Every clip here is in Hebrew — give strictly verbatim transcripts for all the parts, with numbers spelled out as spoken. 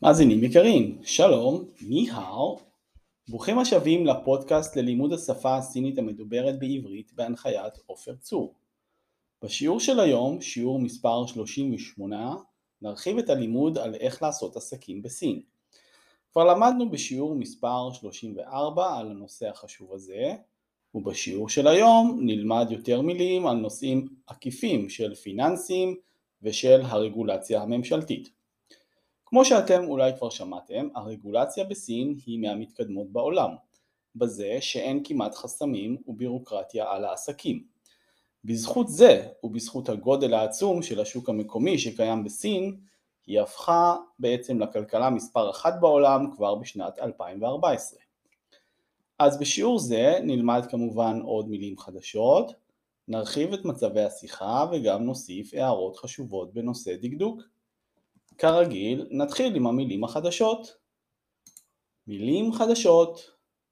מאזינים יקרים, שלום, ניהאו, ברוכים השבים לפודקאסט ללימוד השפה הסינית המדוברת בעברית בהנחיית עופר צור. בשיעור של היום, שיעור מספר שלושים ושמונה, נרחיב את הלימוד על איך לעשות עסקים בסין. כבר למדנו בשיעור מספר שלושים וארבע על הנושא החשוב הזה, ובשיעור של היום נלמד יותר מילים על נושאים עקיפים של פיננסים ושל הרגולציה הממשלתית. כמו שאתם אולי כבר שמעתם, הרגולציה בסין היא מהמתקדמות בעולם, בזה שאין כמעט חסמים ובירוקרטיה על העסקים. בזכות זה ובזכות הגודל העצום של השוק המקומי שקיים בסין, היא הפכה בעצם לכלכלה מספר אחת בעולם כבר בשנת אלפיים וארבע עשרה. אז בשיעור זה נלמד כמובן עוד מילים חדשות, נרחיב את מצבי השיחה וגם נוסיף הערות חשובות בנושא דקדוק. כרגיל, נתחיל עם המילים החדשות. מילים חדשות.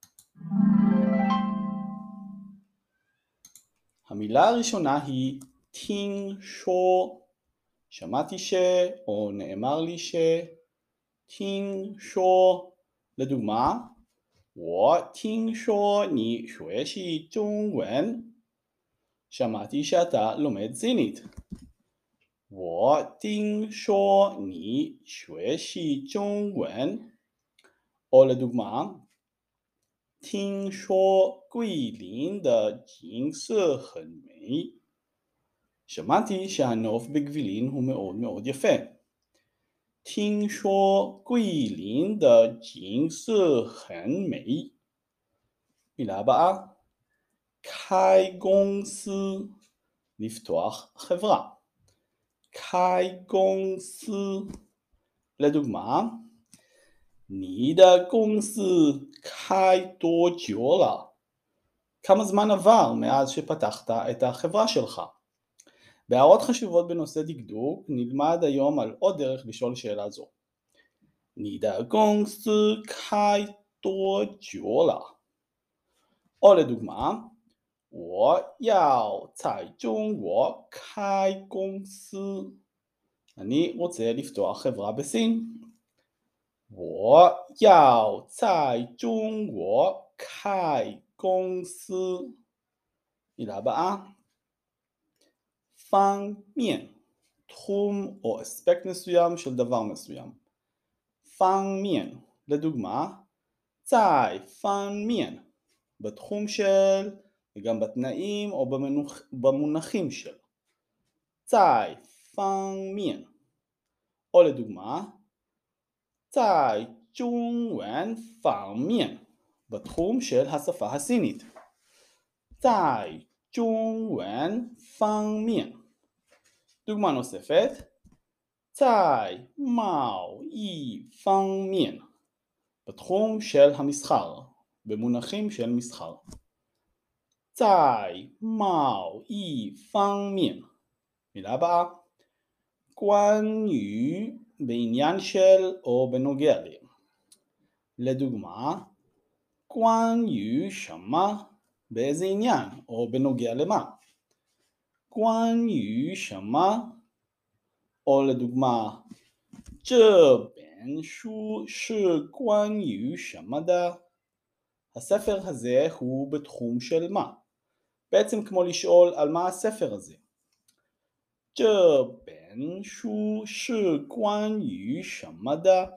המילה הראשונה היא טינג שו. שמעתי ש, או נאמר לי ש. טינג שו. לדוגמה, 我听说你学习中文. שמעתי שאתה לומד סינית. 我听说你学习中文. או לדוגמה, 听说桂林的景色很美. שמעתי שהנוף בגבילין הוא מאוד מאוד יפה. 听说桂林的景色很美. מילה הבאה, 开公司, לפתוח חברה. 开公司. לדוגמה, 你的公司开多久了? כמה זמן עבר מאז שפתחת את החברה שלך? בהערות חשובות בנושא דקדוק נלמד היום על עוד דרך לשאול שאלה זו. 你的公司开多久了? או לדוגמה, 我要在中国开公司. אני רוצה לפתוח חברה בסין. 我要在中国开公司. מילה הבאה, 方面, תחום או אספקט מסוים של דבר מסוים. 方面, לדוגמה, 在方面, בתחום של, וגם בתנאים או במונח, במונחים של. 在方面. או לדוגמה, 在中文方面, בתחום של השפה הסינית. 在中文方面. דוגמה נוספת, 在贸易方面, בתחום של המסחר, במונחים של מסחר. 在贸易方面. מילה הבאה, 关于, בעניין של או בנוגע ל. לדוגמה, 关于什么, באיזה עניין או בנוגע למה. 关于什么, או לדוגמה, 这本书是关于什么的? הספר הזה הוא בתחום של מה? בעצם כמו לשאול על מה הספר הזה. 这本书是关于什么的?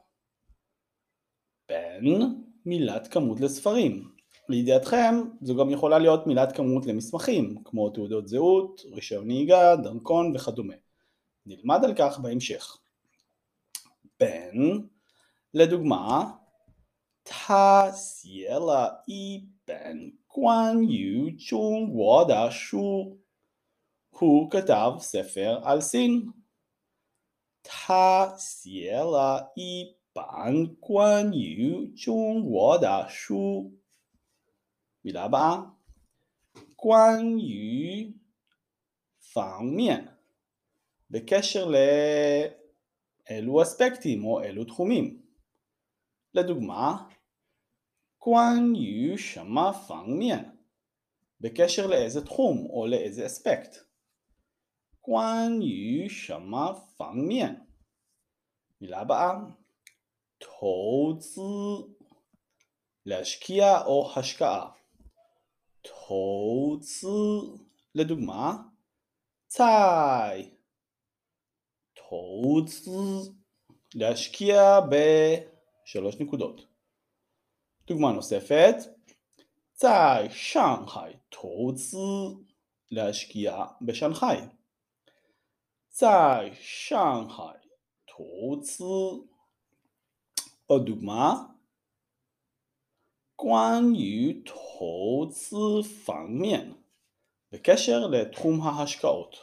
בן, מילת כמות לספרים. לידיעתכם, זו גם יכולה להיות מילת כמות למסמכים, כמו תעודות זהות, רישיון נהיגה, דרכון וכדומה. נלמד על כך בהמשך. בן, לדוגמה, 他写了一本关于中国的书. הוא כתב ספר על סין. 他写了一本关于中国的书. מילה הבאה, 关于方面, בקשר לאלו אספקטים או אלו תחומים. לדוגמה, 关于什么方面, בקשר לאיזה תחום או לאיזה אספקט. 关于什么方面. מילה הבאה, 投资 להשקיע או השקעה. 投资 לדוגמה, 在 投资 להשקיע בשלוש נקודות. דוגמה נוספת, 在上海投资 להשקיע בשנגחאי. 在上海投资 עוד דוגמה, 关于投资方面 בקשר לתחום ההשקעות.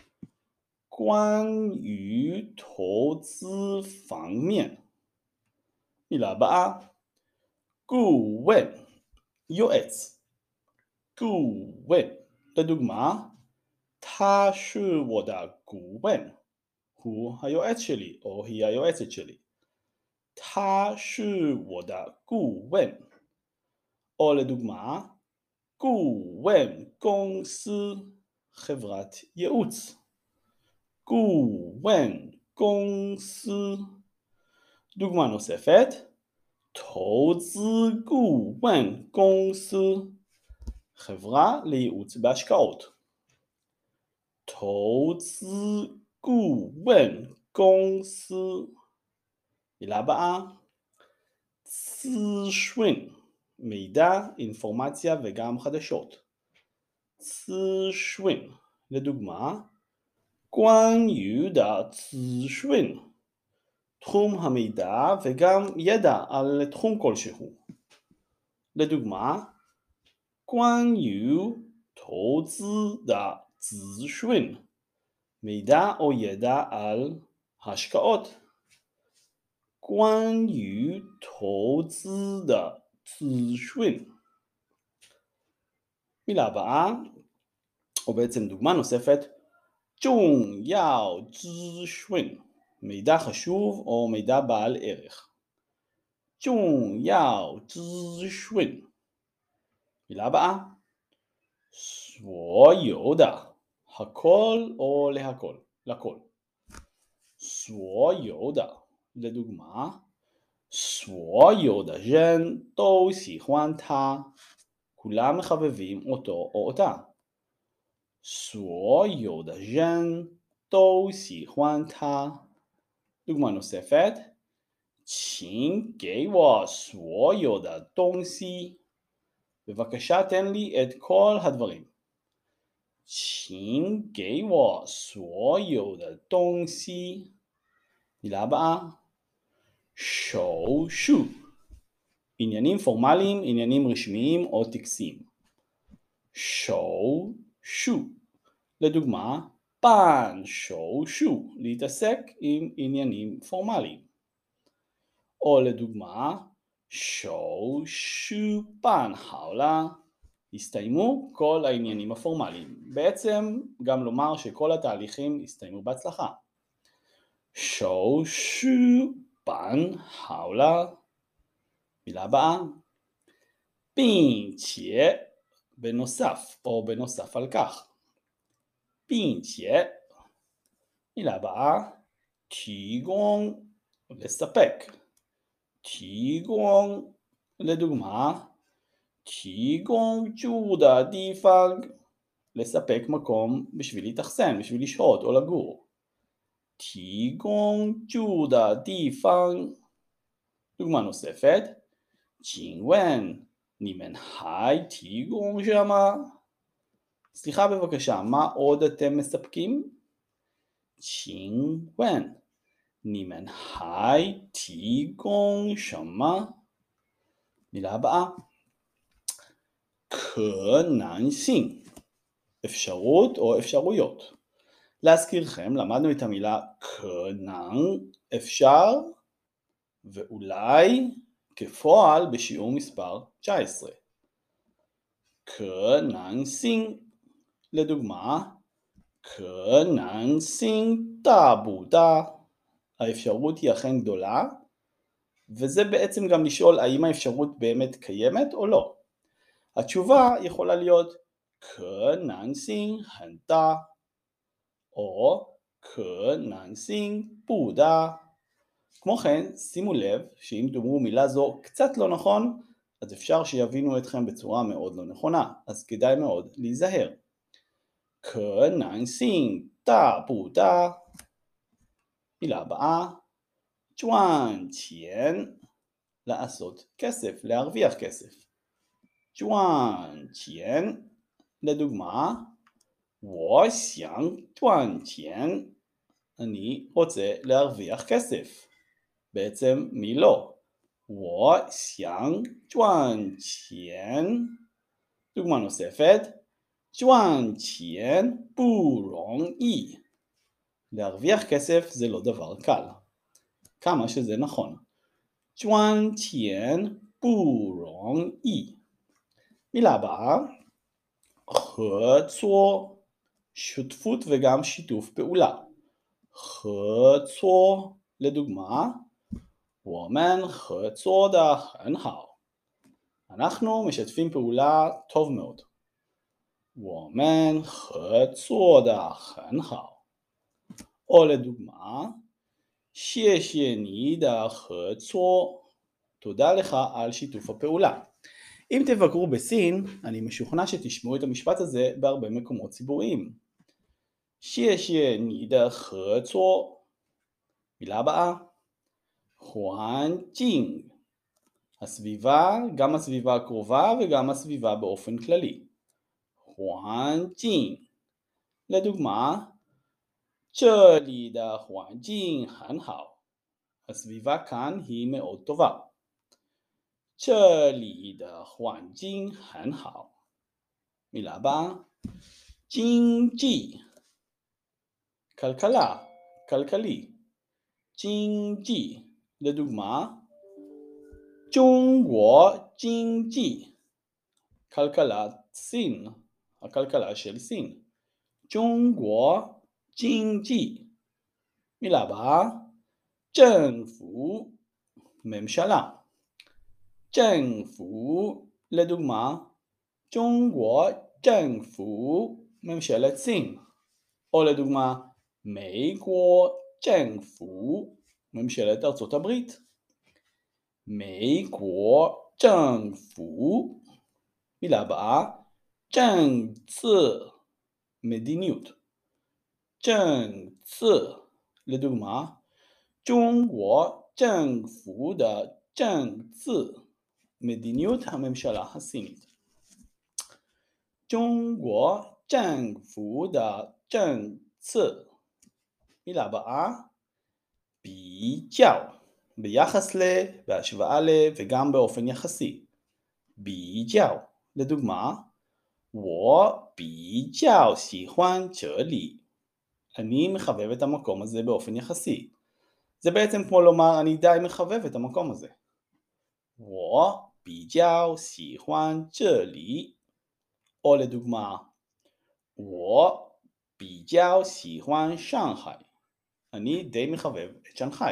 关于投资方面 מילה הבאה, 顾问 יועץ. 顾问 לדוגמה, 他是我的顾问. הוא היועץ שלי או היא היועצת שלי. 他是我的顾问. או לדוגמה, 顾问公司 חברת ייעוץ. 顾问公司. דוגמה נוספת, 投资顾问公司 חברה לייעוץ בהשקעות. 投资顾问公司. מילה הבאה, 资讯 מידע, אינפורמציה וגם חדשות. 资讯 לדוגמה, 关于的资讯 תחום המידע וגם ידע על תחום כלשהו. לדוגמה, 关于投资的资讯 מידע או ידע על השקעות. 关于投资的资讯. מילה הבאה, או בעצם דוגמה נוספת, 重要资讯 מידע חשוב או מידע בעל ערך. 重要资讯. מילה הבאה, 所有的 הכל או להכל, לכל. 所有的 לדוגמה, 所有的人都喜欢他. כולם מחבבים אותו או אותה. 所有的人都喜欢他. דוגמה נוספת, 请给我所有的东西. בבקשה תן לי את כל הדברים. 请给我所有的东西. מילה הבאה, 手术 עניינים פורמליים, עניינים רשמיים או טקסיים. 手术 לדוגמה, 办手术 להתעסק עם עניינים פורמליים. או לדוגמה, 手术办好了 הסתיימו כל העניינים הפורמליים. בעצם גם לומר שכל התהליכים הסתיימו בהצלחה. 手术办好了. מילה הבאה, 并且 בנוסף או בנוסף על כך. 并且 מילה הבאה, 提供 לספק. 提供 לדוגמה, 提供住的地方 לספק מקום בשביל להתאכסן, בשביל לשהות או לגור. 提供住的地方. דוגמה נוספת, 请问你们还提供什么? סליחה בבקשה, מה עוד אתם מספקים? 请问你们还提供什么? מילה הבאה, 可能性 אפשרות או אפשרויות. להזכירכם, למדנו את המילה 可能 אפשר ואולי כפועל בשיעור מספר תשע עשרה. 可能性 לדוגמה, 可能性大不大? האפשרות היא אכן גדולה, וזה בעצם גם לשאול האם האפשרות באמת קיימת או לא. התשובה יכולה להיות 可能性很大 או 可能性不大. כמו כן, שימו לב שאם תאמרו מילה זו קצת לא נכון, אז אפשר שיבינו אתכם בצורה מאוד לא נכונה, אז כדאי מאוד להיזהר. 可能性大不大? מילה הבאה, 赚钱, לעשות כסף, להרוויח כסף. 赚钱, לדוגמה, 我想赚钱, אני רוצה להרוויח כסף. בעצם מי לא? 我想赚钱. דוגמה נוספת, 赚钱不容易. להרוויח כסף זה לא דבר קל. כמה שזה נכון. 赚钱不容易. מילה הבאה, 合作, שותפות וגם שיתוף פעולה. 合作, לדוגמה, 我们合作得很好. אנחנו משתפים פעולה טוב מאוד. 我们合作得很好. או לדוגמה, 谢谢你的合作. תודה לך על שיתוף הפעולה. אם תבקרו בסין, אני משוכנע שתשמעו את המשפט הזה בהרבה מקומות ציבוריים. 谢谢你的合作. מילה הבאה, 环境. הסביבה, גם הסביבה הקרובה וגם הסביבה באופן כללי. 环境. לדוגמה, 这里的环境很好. הסביבה כאן היא מאוד טובה. 这里的环境很好. מילה הבאה, 经济. כלכלה, כלכלי. 经济. לדוגמה, 中国经济. כלכלת סין, הכלכלה של סין. 中国经济. מילה הבאה, 政府, ממשלה. 政府, לדוגמה, 中国政府, ממשלת סין. או לדוגמה, 美国政府, ממשלת ארצות הברית. 美国政府. מילה הבאה, 政治, מדיניות. 政治, לדוגמה, 中国政府的政治, מדיניות הממשלה הסינית. 中国政府的政治. מילה הבאה, 比较, ביחס ל, בהשוואה ל, וגם באופן יחסי. 比较, לדוגמה, 我比较喜欢这里. אני מחבב את המקום הזה באופן יחסי. זה בעצם כמו לומר אני די מחבב את המקום הזה. 我比较喜欢这里. או לדוגמה, 我比较喜欢上海. אני די מחבב את שנגחאי.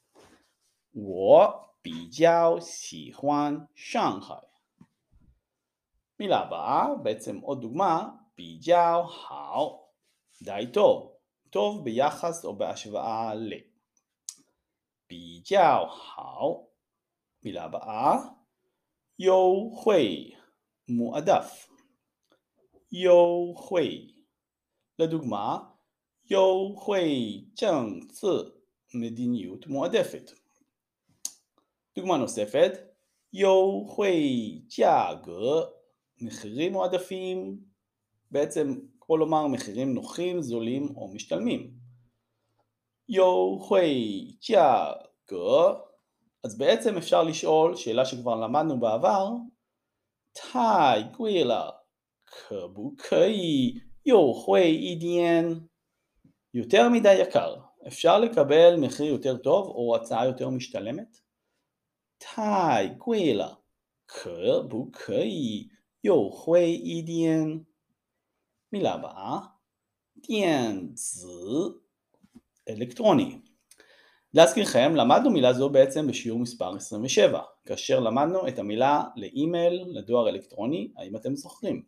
我比较喜欢上海. מילה הבאה, בעצם עוד דוגמה, 比较好, די טוב, טוב ביחס או בהשוואה ל. 比较好. מילה הבאה, 优惠, מועדף. 优惠. לדוגמה, 优惠政策, מדיניות מועדפת. דוגמה נוספת, 优惠价格, מחירים מועדפים, בעצם כמו לומר מחירים נוחים, זולים או משתלמים. 优惠价格. אז בעצם אפשר לשאול שאלה שכבר למדנו בעבר, 太贵了, 可不可以优惠一点? יותר מדי יקר, אפשר לקבל מחיר יותר טוב או הצעה יותר משתלמת? 太贵了, 可不可以优惠一点? מילה הבאה, 电子, אלקטרוני. להזכירכם, למדנו מילה זו בעצם בשיעור מספר עשרים ושבע, כאשר למדנו את המילה לאימייל, לדואר אלקטרוני, האם אתם זוכרים?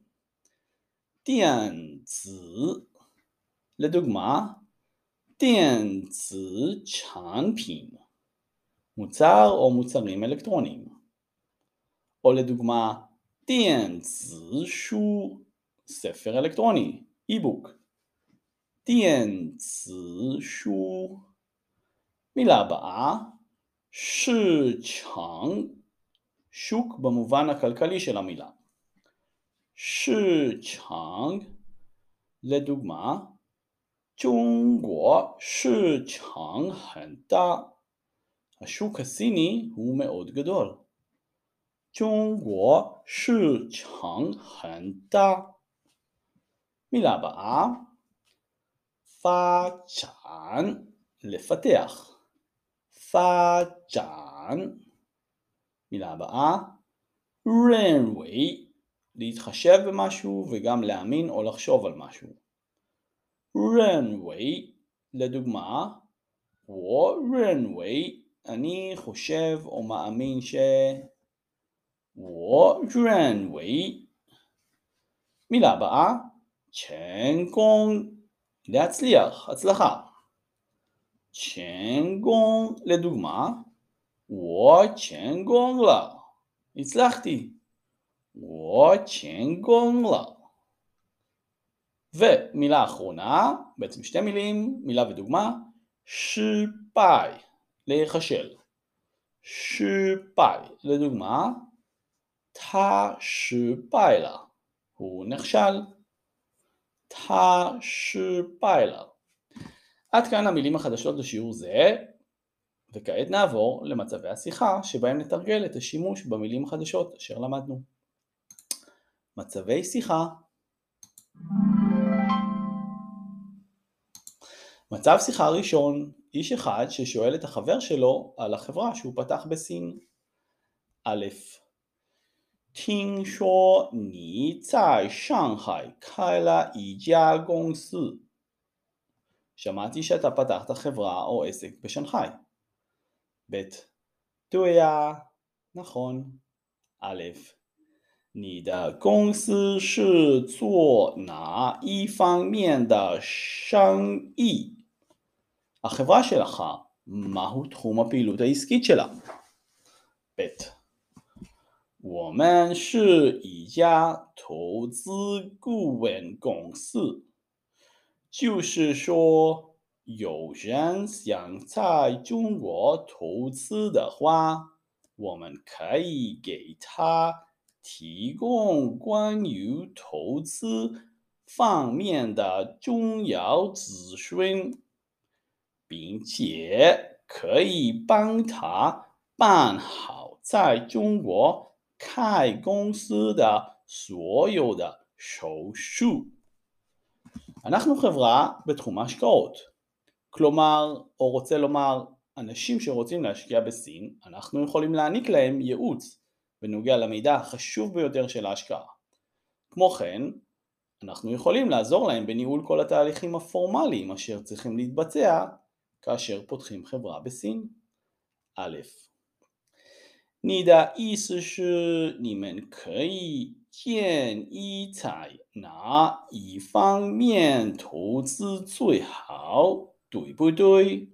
电子. לדוגמה, 电子产品, מוצר או מוצרים אלקטרוניים. או לדוגמה, 电子书, ספר אלקטרוני, e-book. 电子书. מילה הבאה, 市场, שוק במובן הכלכלי של המילה. 市场, לדוגמה, 中国市场很大. השוק הסיני הוא מאוד גדול. 中国市场很大. מילה הבאה, 发展, לפתח. 发展. מילה הבאה, 认为, להתחשב במשהו וגם להאמין או לחשוב על משהו. 认为, לדוגמה, 我认为, אני חושב או מאמין ש... 我认为. מילה הבאה, 成功, להצליח, הצלחה. 成功, לדוגמה, 我成功了, הצלחתי. 我成功了. ומילה אחרונה, בעצם שתי מילים, מילה ודוגמה, 失败, להיכשל. 失败, לדוגמה, 他失败了, הוא נכשל. 他失败了. עד כאן המילים החדשות לשיעור זה, וכעת נעבור למצבי השיחה שבהם נתרגל את השימוש במילים החדשות אשר למדנו. מצבי שיחה. מצב שיחה ראשון, איש אחד ששואל את החבר שלו על החברה שהוא פתח בסין. א', 听说你在上海开了一家公司. שמעתי שאתה פתחת חברה או עסק בשנגחאי. ב', 对呀, נכון. א', 你的公司是做哪一方面的生意? החברה שלך, מהו תחום הפעילות העסקית שלה? ב', 我们是一家投资顾问公司，就是说有人想在中国投资的话，我们可以给他提供关于投资方面的重要资讯，并且可以帮他办好在中国开公司的所有的手续. אנחנו חברה בתחום ההשקעות. כלומר, או רוצה לומר, אנשים שרוצים להשקיע בסין, אנחנו יכולים להעניק להם ייעוץ בנוגע למידע החשוב ביותר של ההשקעה. כמו כן, אנחנו יכולים לעזור להם בניהול כל התהליכים הפורמליים אשר צריכים להתבצע כאשר פותחים חברה בסין. א', 你的意思是你们可以建议在哪一方面投资最好, 对不对?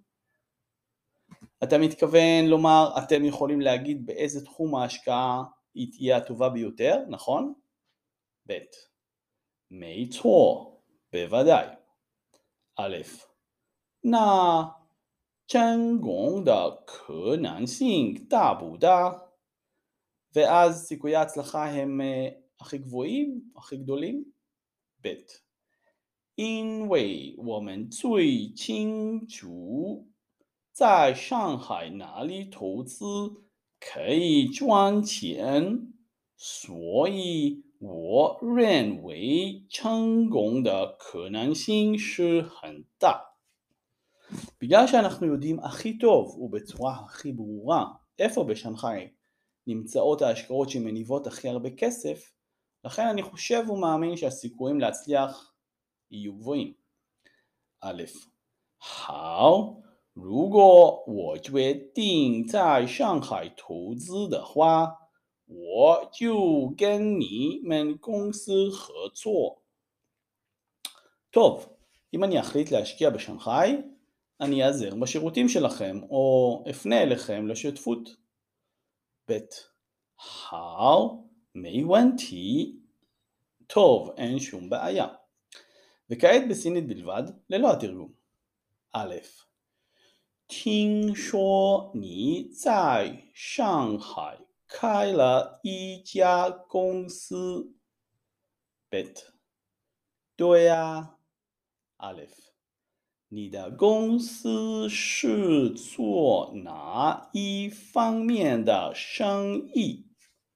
אתה מתכוון לומר, אתם יכולים להגיד באיזה תחום ההשקעה היא תהיה הטובה ביותר, נכון? ב', 没错, בוודאי. א', 那成功的可能性大不大? ואז סיכויי ההצלחה הם הכי גבוהים, הכי גדולים? ב', 因为我们最清楚在上海哪里投资可以赚钱，所以我认为成功的可能性是很大. בגלל שאנחנו יודעים הכי טוב ובצורה הכי ברורה איפה בשנגחאי נמצאות ההשקעות שמניבות הכי הרבה כסף, לכן אני חושב ומאמין שהסיכויים להצליח יהיו גבוהים. א', 好, 如果我决定在上海投资的话，我就跟你们公司合作. טוב, אם אני אחליט להשקיע בשנגחאי, אני אעזר בשירותים שלכם או אפנה אליכם לשותפות. ב'好，没问题. טוב, אין שום בעיה. וכעת בסינית בלבד, ללא התרגום. א' 听说你在上海开了一家公司。bit 对啊 Aleph 你的公司是做哪一方面的生意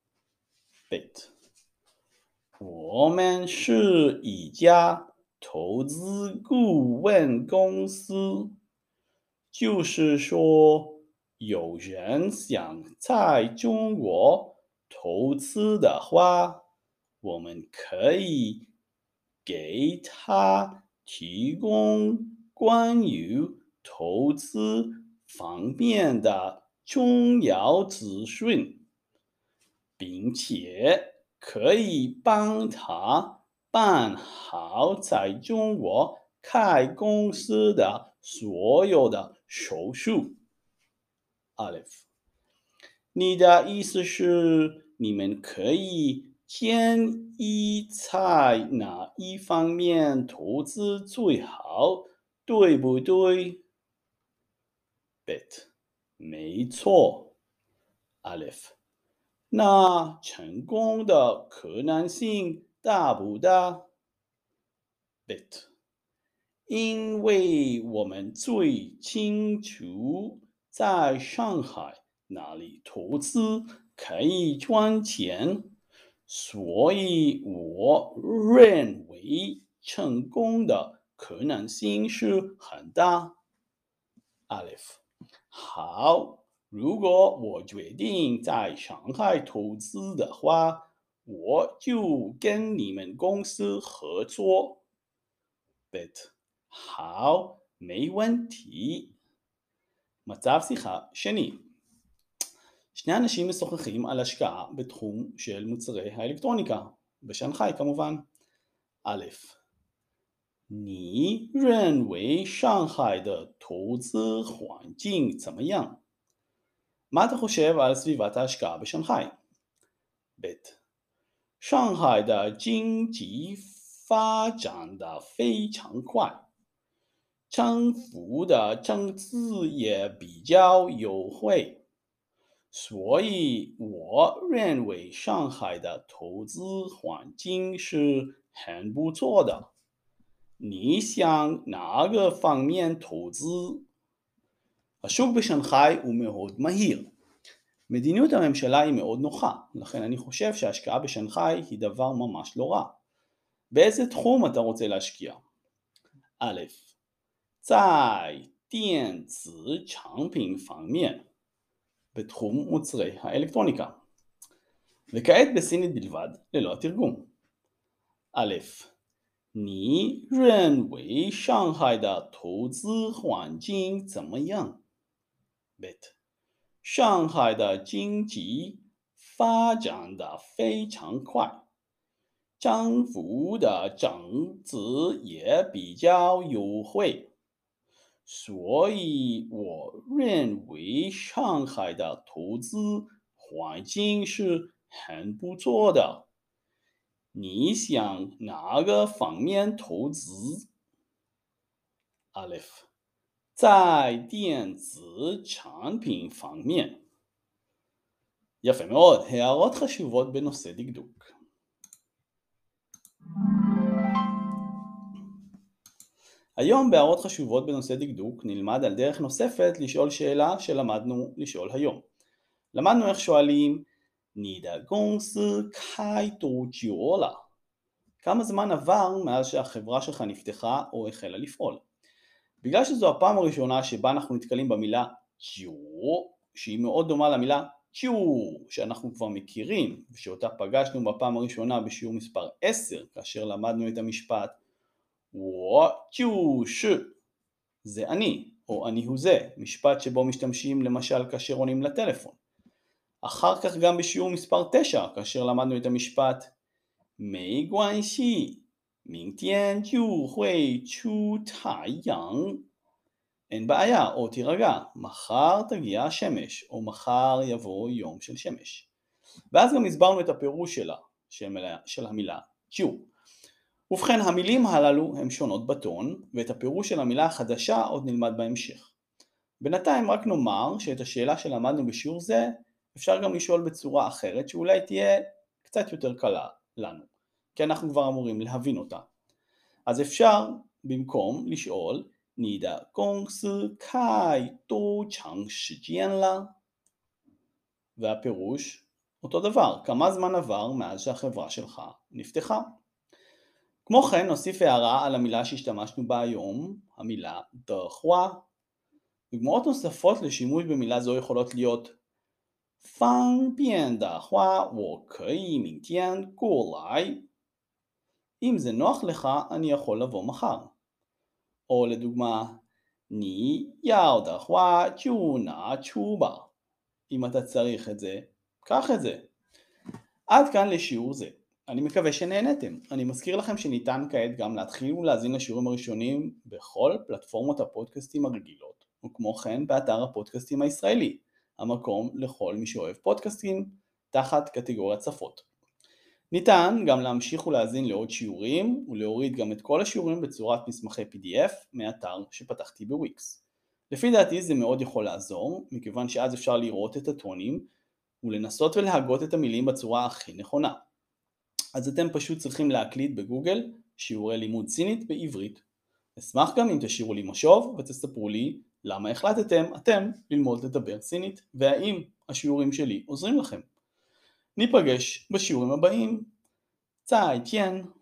bit 我们是一家投资顾问公司，就是说有人想在中国投资的话，我们可以给他提供关于投资方面的重要资讯，并且可以帮他办好在中国开公司的所有的手续。Aleph，你的意思是你们可以建议在哪一方面投资最好，对不对 ？Bet，没错。Aleph，那成功的可能性大不大 ？Bet，因为我们最清楚在上海哪里投资可以赚钱，所以我认为成功的可能性是很大。Aleph，好，如果我决定在上海投资的话，我就跟你们公司合作。Bet，好，没问题. מצב שיחה שני. שני אנשים משוחחים על השקעה בתחום של מוצרי האלקטרוניקה, בשנגחאי כמובן. א' 你认为上海的投资环境怎么样? מה אתה חושב על סביבת ההשקעה בשנגחאי? ב' 上海的经济发展得非常快，政府的政策也比较优惠，所以我认为上海的投资环境是很不错的。你想哪个方面投资? השוק בשנגחאי הוא מאוד מהיר. מדיניות הממשלה היא מאוד נוחה, לכן אני חושב שההשקעה בשנגחאי היא דבר ממש לא רע. באיזה תחום אתה רוצה להשקיע? א' 在电子产品方面, בתחום מוצרי האלקטרוניקה. וכעת בסינית בלבד, ללא התרגום. א' 你认为上海的投资环境怎么样? bit 上海的经济发展得非常快，政府的政策也比较优惠，所以我认为上海的投资环境是很不错的。你想哪个方面投资? Aleph 在电子产品方面. יפה מאוד, הערות חשובות בנושא דקדוק. היום בהערות חשובות בנושא דקדוק נלמד על דרך נוספת לשאול שאלה שלמדנו לשאול היום. למדנו איך שואלים 你的公司开多久了? כמה זמן עבר מאז שהחברה שלך נפתחה או החלה לפעול? בגלל שזו הפעם הראשונה שבה אנחנו נתקלים במילה ג'ו, שהיא מאוד דומה למילה ג'ו שאנחנו כבר מכירים ושאותה פגשנו בפעם הראשונה בשיעור מספר עשר כאשר למדנו את המשפט 我就是זה אני או אני הוא זה, משפט שבו משתמשים למשל כאשר עונים לטלפון. אחר כך גם בשיעור מספר תשע כאשר למדנו את המשפט 没关系明天就会出太阳 אין בעיה, או תירגע, מחר תגיע השמש, או מחר יבוא יום של שמש. ואז גם הסברנו את הפירוש שלה, של המילה צ'יו. ובכן, המילים הללו הן שונות בטון, ואת הפירוש של המילה החדשה עוד נלמד בהמשך. בינתיים רק נאמר שאת השאלה שלמדנו בשיעור זה, אפשר גם לשאול בצורה אחרת, שאולי תהיה קצת יותר קלה לנו, כי אנחנו כבר אמורים להבין אותה. אז אפשר במקום לשאול, 你的公司开多长时间了? והפירוש אותו דבר, כמה זמן עבר מאז שהחברה שלך נפתחה. כמו כן נוסיף הערה על המילה שהשתמשנו בה היום, המילה דחווה. דוגמאות נוספות לשימוש במילה זו יכולות להיות 方便的话我可以明天过来. אם זה נוח לך אני יכול לבוא מחר. או לדוגמה 你要的话就拿出吧. אם אתה צריך את זה, קח את זה. עד כאן לשיעור זה. אני מקווה שנהנתם. אני מזכיר לכם שניתן כעת גם להתחיל ולהזין לשיעורים הראשונים בכל פלטפורמות הפודקאסטים הרגילות, וכמו כן באתר הפודקאסטים הישראלי, המקום לכל מי שאוהב פודקאסטים תחת קטגוריית שפות. ניתן גם להמשיך ולהזין לעוד שיעורים ולהוריד גם את כל השיעורים בצורת מסמכי פי די אף מאתר שפתחתי בוויקס. לפי דעתי זה מאוד יכול לעזור, מכיוון שאז אפשר לראות את הטונים ולנסות ולהגות את המילים בצורה הכי נכונה. אז אתם פשוט צריכים להקליד בגוגל שיעורי לימוד סינית בעברית. אשמח גם אם תשאירו לי משוב ותספרו לי למה החלטתם אתם ללמוד לדבר סינית והאם השיעורים שלי עוזרים לכם. ניפגש בשיעורים הבאים. 再见